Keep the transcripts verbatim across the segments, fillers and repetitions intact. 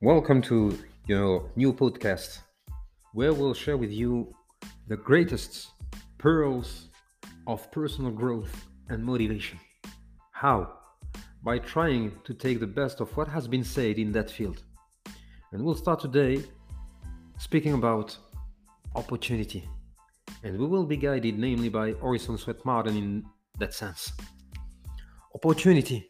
Welcome to your new podcast, where we'll share with you the greatest pearls of personal growth and motivation. How? By trying to take the best of what has been said in that field. And we'll start today speaking about opportunity. And we will be guided namely by Orison Swett Marden in that sense. Opportunity.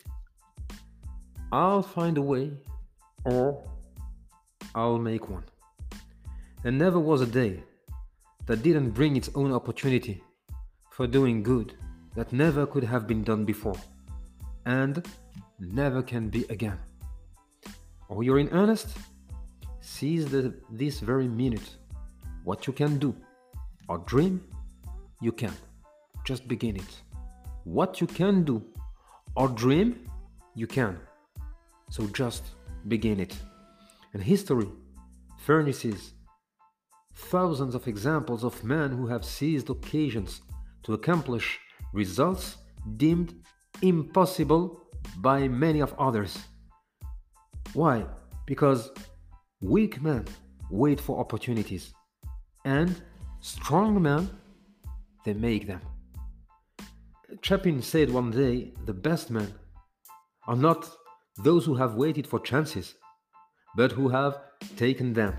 I'll find a way, or I'll make one. There never was a day that didn't bring its own opportunity for doing good that never could have been done before and never can be again. Or you're in earnest? Seize the, this very minute what you can do or dream, you can. Just begin it. What you can do or dream, you can. So just begin it. And history furnishes thousands of examples of men who have seized occasions to accomplish results deemed impossible by many of others. Why? Because weak men wait for opportunities, and strong men, they make them. Chapin said one day, the best men are not those who have waited for chances, but who have taken them.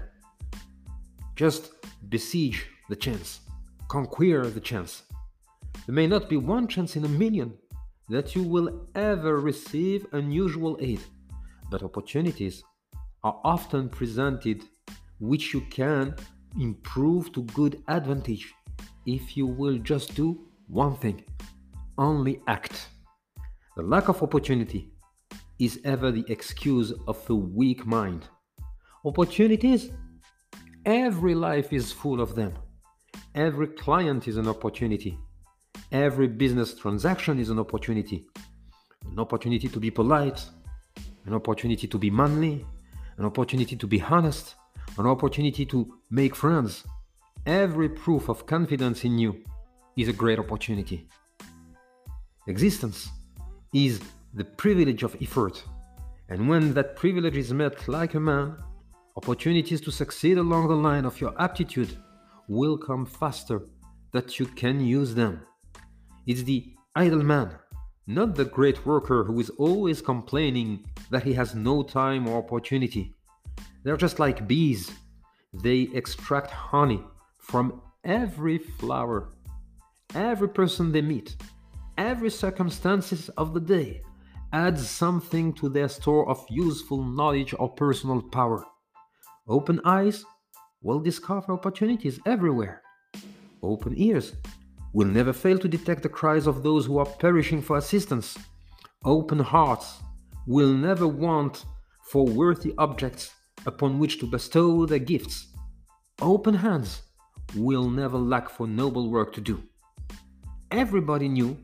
Just besiege the chance, conquer the chance. There may not be one chance in a million that you will ever receive unusual aid, but opportunities are often presented which you can improve to good advantage if you will just do one thing: only act. The lack of opportunity is ever the excuse of a weak mind. Opportunities? Every life is full of them. Every client is an opportunity. Every business transaction is an opportunity. An opportunity to be polite, an opportunity to be manly, an opportunity to be honest, an opportunity to make friends. Every proof of confidence in you is a great opportunity. Existence is the privilege of effort, and when that privilege is met like a man, opportunities to succeed along the line of your aptitude will come faster that you can use them. It's the idle man, not the great worker who is always complaining that he has no time or opportunity. They're just like bees. They extract honey from every flower, every person they meet, every circumstances of the day adds something to their store of useful knowledge or personal power. Open eyes will discover opportunities everywhere. Open ears will never fail to detect the cries of those who are perishing for assistance. Open hearts will never want for worthy objects upon which to bestow their gifts. Open hands will never lack for noble work to do. Everybody knew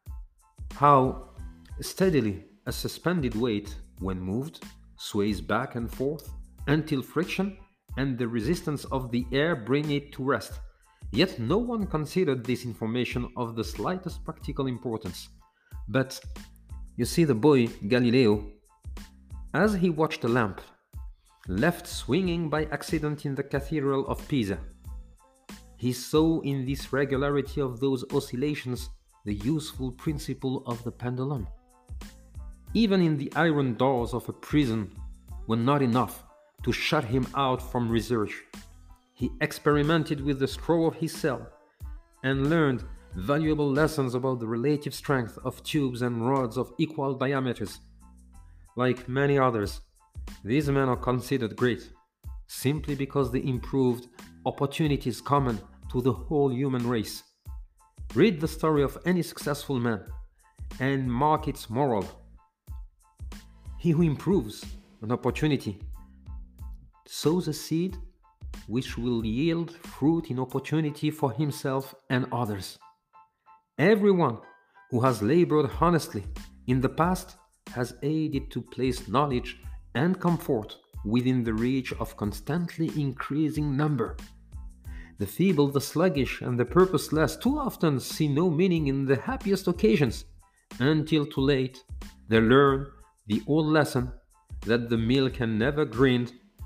how steadily a suspended weight, when moved, sways back and forth until friction and the resistance of the air bring it to rest. Yet no one considered this information of the slightest practical importance. But you see, the boy Galileo, as he watched a lamp left swinging by accident in the cathedral of Pisa, he saw in this regularity of those oscillations the useful principle of the pendulum. Even in the iron doors of a prison were not enough to shut him out from research. He experimented with the straw of his cell and learned valuable lessons about the relative strength of tubes and rods of equal diameters. Like many others, these men are considered great simply because they improved opportunities common to the whole human race. Read the story of any successful man and mark its moral. He who improves an opportunity sows a seed which will yield fruit in opportunity for himself and others. Everyone who has labored honestly in the past has aided to place knowledge and comfort within the reach of constantly increasing number. The feeble, the sluggish, and the purposeless too often see no meaning in the happiest occasions, until too late they learn the old lesson that the mill can never grind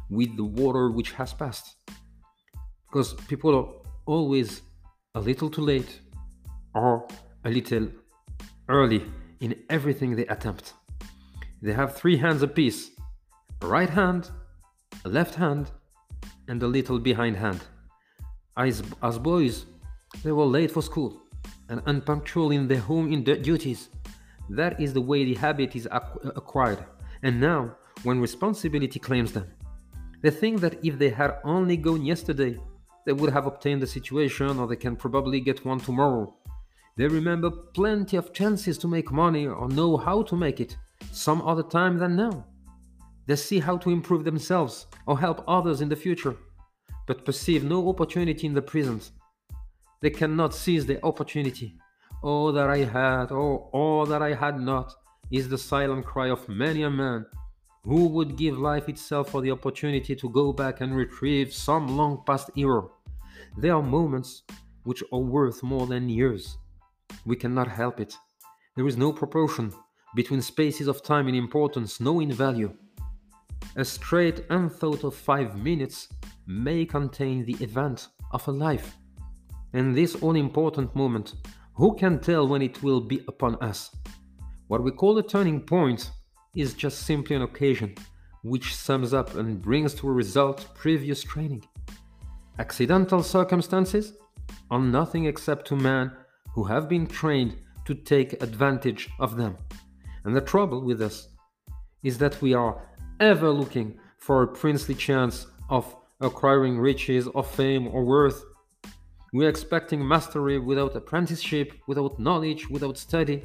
with the water which has passed. Because people are always a little too late or a little early in everything they attempt. They have three hands apiece: a right hand, a left hand, and a little behind hand. As, as boys, they were late for school and unpunctual in their home in duties. That is the way the habit is acquired. And now, when responsibility claims them, they think that if they had only gone yesterday, they would have obtained the situation, or they can probably get one tomorrow. They remember plenty of chances to make money or know how to make it some other time than now. They see how to improve themselves or help others in the future, but perceive no opportunity in the present. They cannot seize the opportunity. All that I had, or all that I had not, is the silent cry of many a man who would give life itself for the opportunity to go back and retrieve some long past era. There are moments which are worth more than years. We cannot help it. There is no proportion between spaces of time in importance, no in value. A straight unthought of five minutes may contain the event of a life. And this all-important moment, who can tell when it will be upon us? What we call a turning point is just simply an occasion which sums up and brings to a result previous training. Accidental circumstances are nothing except to men who have been trained to take advantage of them. And the trouble with us is that we are ever looking for a princely chance of acquiring riches or fame or worth. We are expecting mastery without apprenticeship, without knowledge, without study.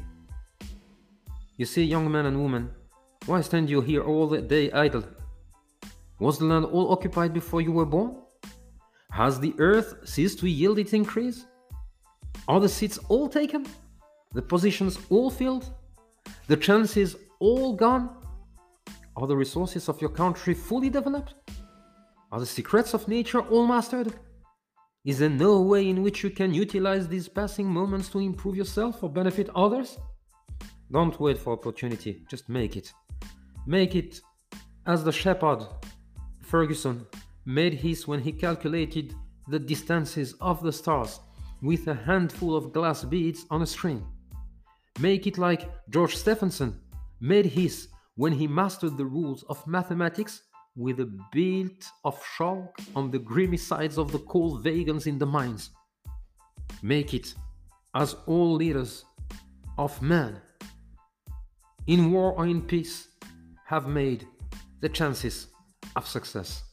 You see, young men and women, why stand you here all the day idle? Was the land all occupied before you were born? Has the earth ceased to yield its increase? Are the seats all taken? The positions all filled? The chances all gone? Are the resources of your country fully developed? Are the secrets of nature all mastered? Is there no way in which you can utilize these passing moments to improve yourself or benefit others? Don't wait for opportunity, just make it. Make it as the shepherd Ferguson made his when he calculated the distances of the stars with a handful of glass beads on a string. Make it like George Stephenson made his when he mastered the rules of mathematics with a bit of chalk on the grimy sides of the cold wagons in the mines. Make it as all leaders of man, in war or in peace, have made the chances of success.